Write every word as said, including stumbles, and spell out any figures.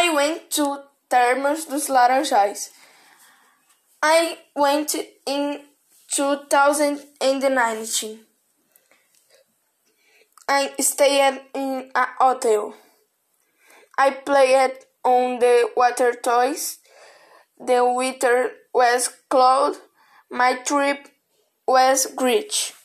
I went to Termas dos Laranjais. I went in two thousand nineteen. I stayed in a hotel. I played on the water toys. The weather was cold. My trip was great.